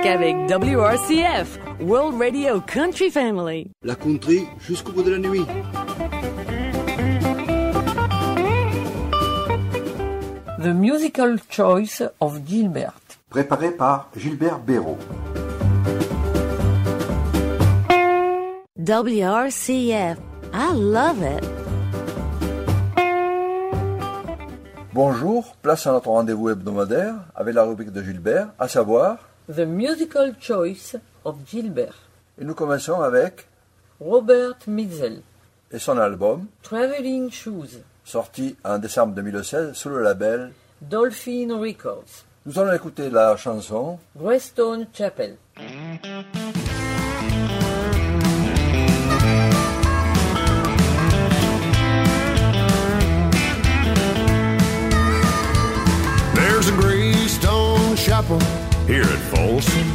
musique avec WRCF, World Radio Country Family. La country jusqu'au bout de la nuit. The Musical Choice of Gilbert. Préparé par Gilbert Béraud. WRCF. I love it. Bonjour, place à notre rendez-vous hebdomadaire avec la rubrique de Gilbert, à savoir The Musical Choice of Gilbert. Et nous commençons avec Robert Mitzel et son album Traveling Shoes, sorti en décembre 2016 sous le label Dolphin Records. Nous allons écouter la chanson Greystone Chapel. There's a Greystone Chapel here at Folsom,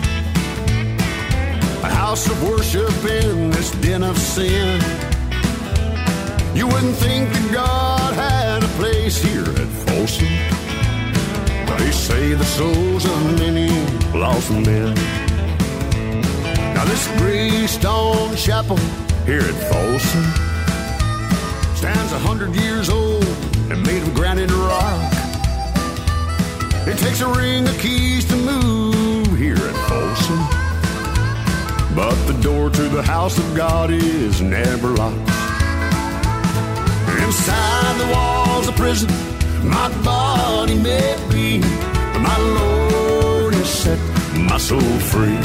a house of worship in this den of sin. You wouldn't think that God had a place here at Folsom, but they say the souls of many lost men. Now this Greystone Chapel here at Folsom stands 100 years old and made of granite rock. It takes a ring of keys to move here at Folsom, but the door to the house of God is never locked. Inside the walls of prison, my body may be, but my Lord has set my soul free.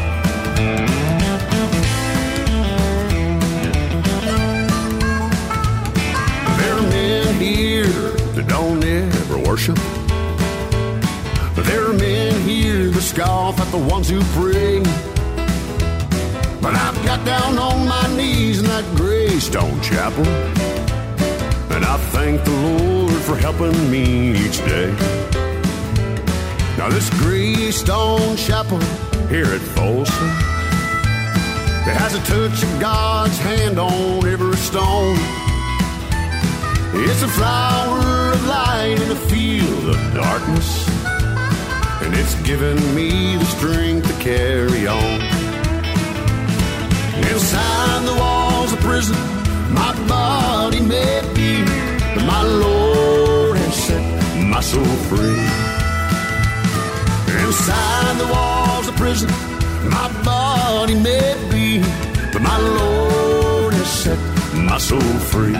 There are men here that don't ever worship. There are men here that scoff at the ones who pray. But I've got down on my knees in that Greystone Chapel, and I thank the Lord for helping me each day. Now this Greystone Chapel here at Folsom, it has a touch of God's hand on every stone. It's a flower of light in a field of darkness, and it's given me the strength to carry on. Inside the walls of prison, my body may be, but my Lord has set my soul free. Inside the walls of prison, my body may be, but my Lord has set my soul free.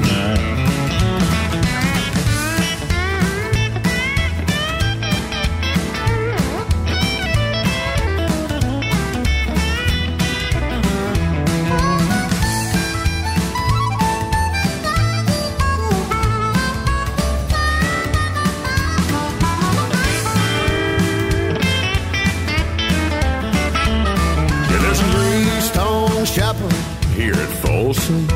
Here at Folsom,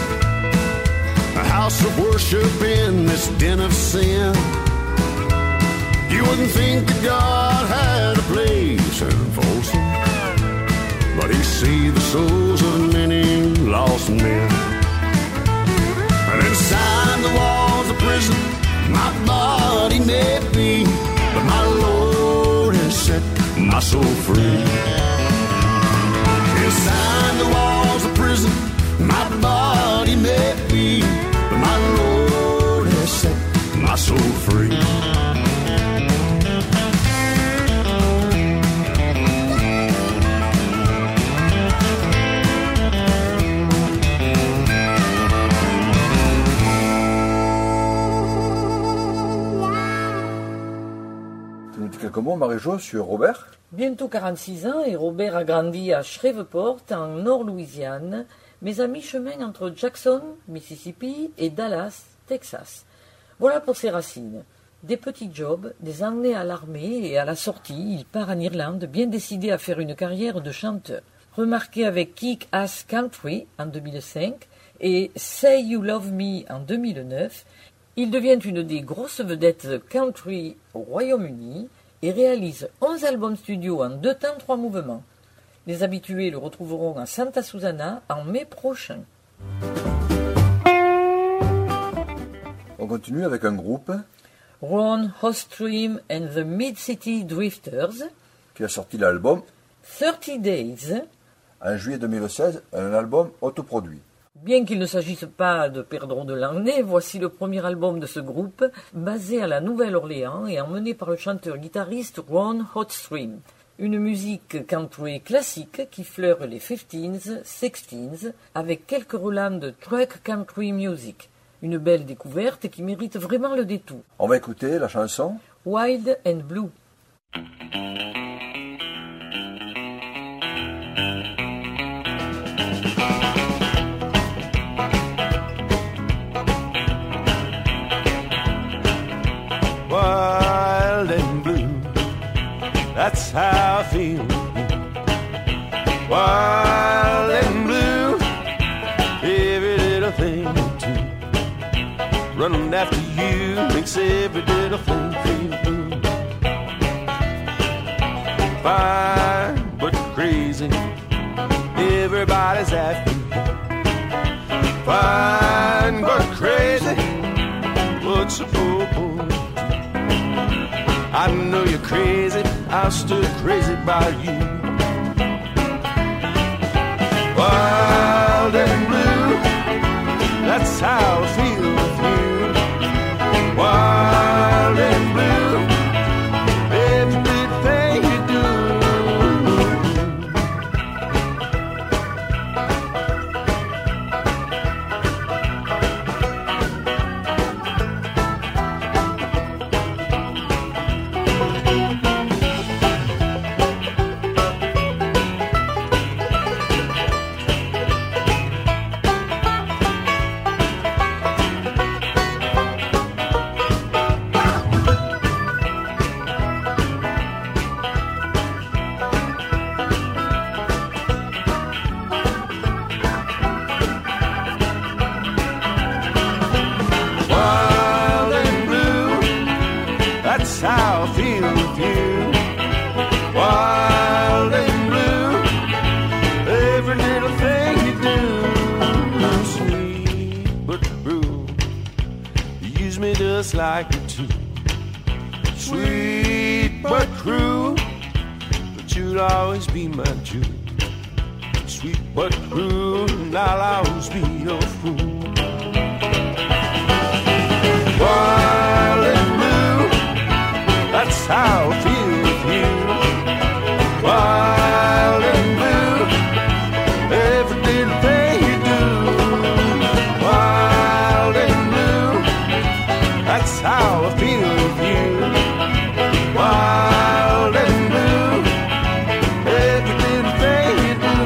a house of worship in this den of sin. You wouldn't think that God had a place in Folsom, but He sees the souls of many lost men. And inside the walls of prison, my body may be, but my Lord has set my soul free. Inside the walls of prison, my body may be, but my Lord has set my soul free. Tu nous dis quelques mots, Marie-Jo, sur Robert? Bientôt 46 ans et Robert a grandi à Shreveport, en Nord-Louisiane, mais à mi-chemin entre Jackson, Mississippi et Dallas, Texas. Voilà pour ses racines. Des petits jobs, des années à l'armée et à la sortie, il part en Irlande, bien décidé à faire une carrière de chanteur. Remarqué avec Kick Ass Country en 2005 et Say You Love Me en 2009, il devient une des grosses vedettes country au Royaume-Uni et réalise 11 albums studio en 2 temps 3 mouvements. Les habitués le retrouveront à Santa Susana en mai prochain. On continue avec un groupe Ron Ostream and the Mid-City Drifters, qui a sorti l'album 30 Days. En juillet 2016, un album autoproduit. Bien qu'il ne s'agisse pas de Pedro de Langlais, voici le premier album de ce groupe, basé à la Nouvelle-Orléans et emmené par le chanteur-guitariste Ron Hotstream. Une musique country classique qui fleure les 15s, 16s, avec quelques relents de truck country music. Une belle découverte qui mérite vraiment le détour. On va écouter la chanson Wild and Blue. Wild and blue, that's how I feel. Wild and blue, every little thing you do. Running after you makes every little thing feel blue. Fine but crazy, everybody's after you. Fine but crazy, what's a poor boy? I know you're crazy, I'm still crazy about you. Wild and blue, that's how I feel with you. Wild and blue, every little thing you do. That's how I feel with you. Wild and blue, every little thing you do. Sweet but cruel, you use me just like you do. Sweet but cruel, but you'll always be my Jew. Sweet but cruel, and I'll always be your fool. Wild and blue, that's how I feel with you. Wild and blue, every little thing you do. Wild and blue, that's how I feel with you. Wild and blue, every little thing you do.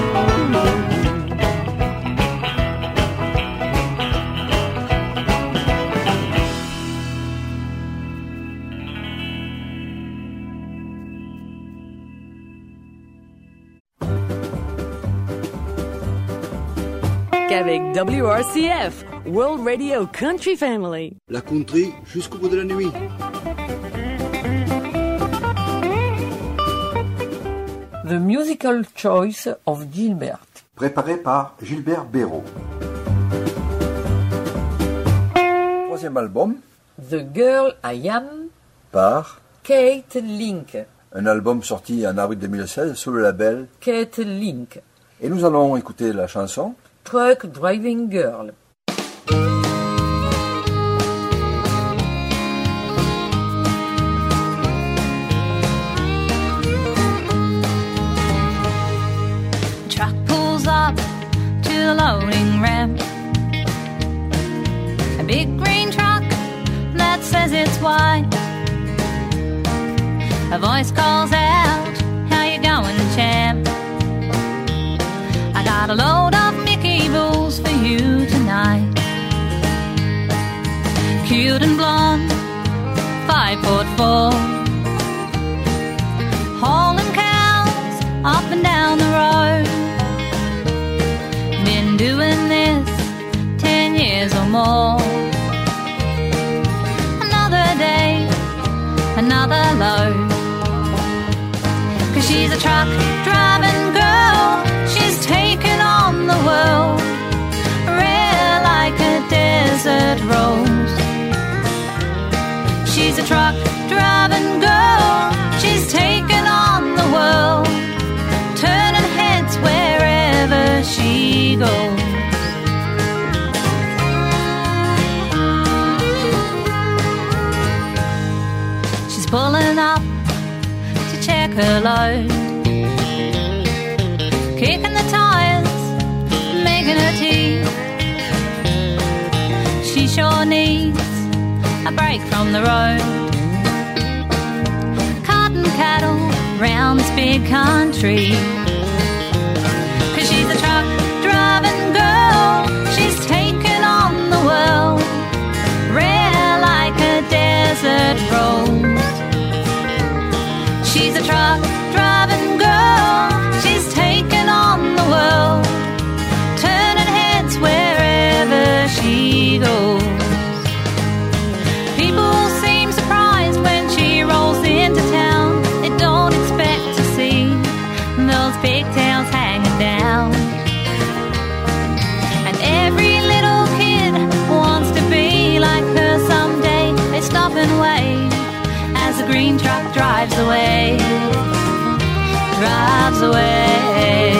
Avec WRCF, World Radio Country Family. La country jusqu'au bout de la nuit. The Musical Choice of Gilbert. Préparé par Gilbert Béraud. Troisième album The Girl I Am, par Kate Link. un album sorti en avril 2016 sous le label. Kate Link. Et nous allons écouter la chanson Truck Driving Girl. Truck pulls up to the loading ramp. A big green truck that says it's white. A voice calls out, how you going, champ? I got a load of Mickey Bulls for you tonight. Cute and blonde, 5'4", hauling cows up and down the road. Been doing this 10 years or more. Another day, another load. 'Cause she's a truck driving girl, she's taken on the world, rare like a desert rose. She's a truck driving girl, she's taken on the world, pulling up to check her load, kicking the tires, making her tea. She sure needs a break from the road. Cotton cattle round this big country, 'cause she's a truck driving girl. She's taken on the world, rare like a desert rose. She's a truck driving girl. She's taken on the world, turning heads wherever she goes. People seem surprised when she rolls into town. They don't expect to see those pigtails hanging down. And every little kid wants to be like her someday. They stop and wait as the green truck drives away. Drives away.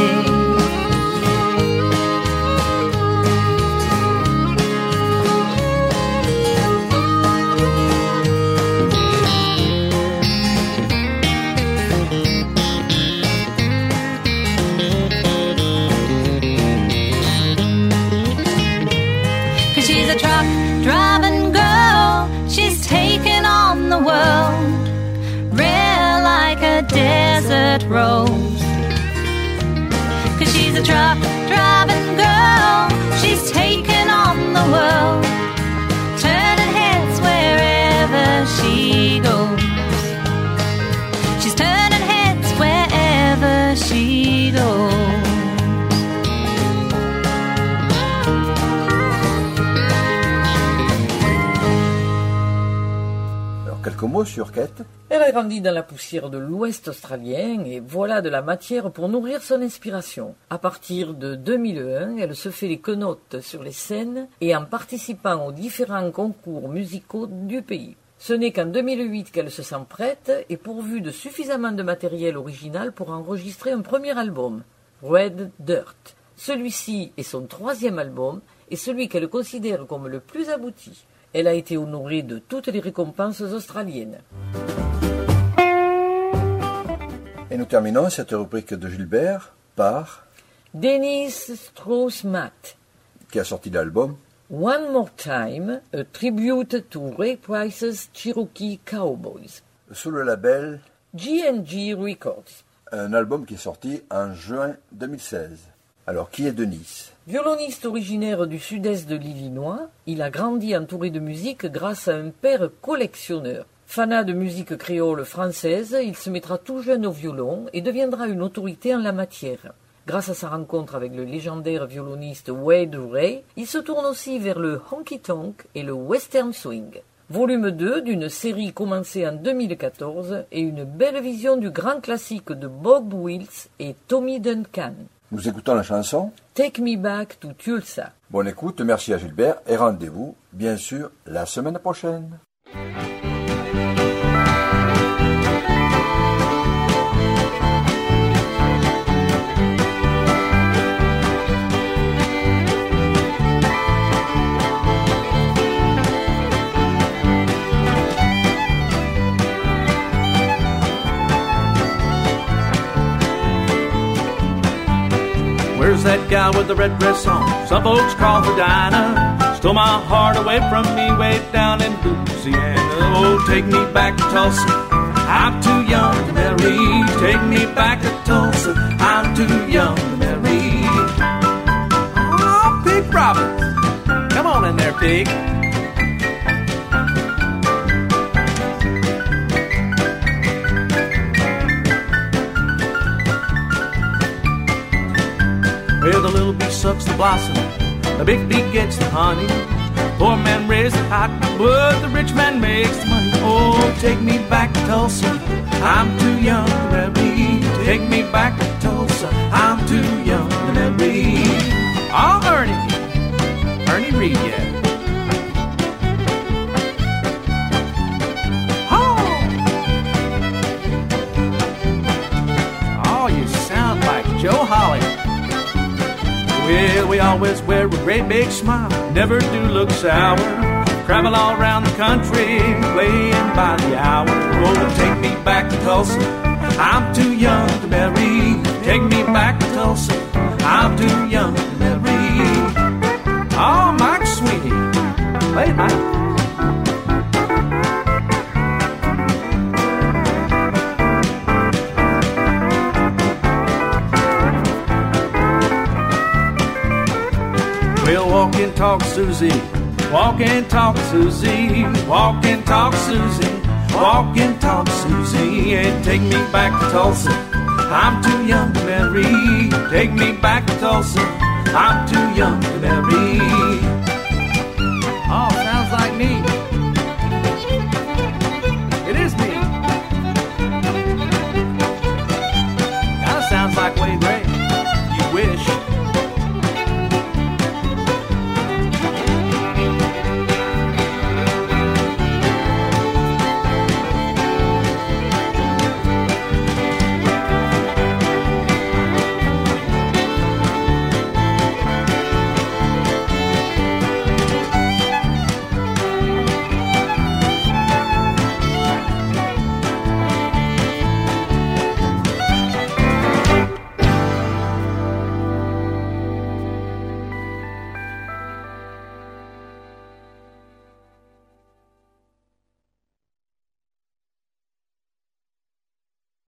She's a truck driving girl. She's taken on the world, rare like a desert rose. 'Cause she's a truck driving girl. She's taken on the world, turning heads wherever she goes. She's turning heads wherever she goes. Quelques mots sur Kate. Elle a grandi dans la poussière de l'Ouest australien et voilà de la matière pour nourrir son inspiration. À partir de 2001, elle se fait les quenottes sur les scènes et en participant aux différents concours musicaux du pays. Ce n'est qu'en 2008 qu'elle se sent prête et pourvue de suffisamment de matériel original pour enregistrer un premier album, Red Dirt. Celui-ci est son 3e album et celui qu'elle considère comme le plus abouti. Elle a été honorée de toutes les récompenses australiennes. Et nous terminons cette rubrique de Gilbert par Dennis Strauss-Matt, qui a sorti l'album One More Time, a tribute to Ray Price's Cherokee Cowboys, sous le label G&G Records. Un album qui est sorti en juin 2016. Alors, qui est Denis? Violoniste originaire du sud-est de l'Illinois, il a grandi entouré de musique grâce à un père collectionneur. Fanat de musique créole française, il se mettra tout jeune au violon et deviendra une autorité en la matière. Grâce à sa rencontre avec le légendaire violoniste Wade Ray, il se tourne aussi vers le honky-tonk et le western swing. Volume 2 d'une série commencée en 2014 et une belle vision du grand classique de Bob Wills et Tommy Duncan. Nous écoutons la chanson Take Me Back to Tulsa. Bonne écoute, merci à Gilbert et rendez-vous, bien sûr, la semaine prochaine. Where's that guy with the red dress on? Some folks call her Dinah. Stole my heart away from me way down in Louisiana. Oh, take me back to Tulsa. I'm too young to marry. Take me back to Tulsa. I'm too young to marry. Oh, Pig Roberts. Come on in there, Pig. Well, the little bee sucks the blossom, the big bee gets the honey. Poor man raises the cotton, but the rich man makes the money. Oh, take me back to Tulsa, I'm too young to marry. Take me back to Tulsa, I'm too young to marry. Oh, Ernie Reed, yeah. Oh, you sound like Joe Holly. Well, we always wear a great big smile, never do look sour. Travel all around the country, playing by the hour. Oh, take me back to Tulsa. I'm too young to marry. Take me back to Tulsa. I'm too young to marry. Oh, Mike Sweeney. Play it, Mike. Well, walk and talk, Susie. Walk and talk, Susie. Walk and talk, Susie. Walk and talk, Susie. And take me back to Tulsa. I'm too young to marry. Take me back to Tulsa. I'm too young to marry.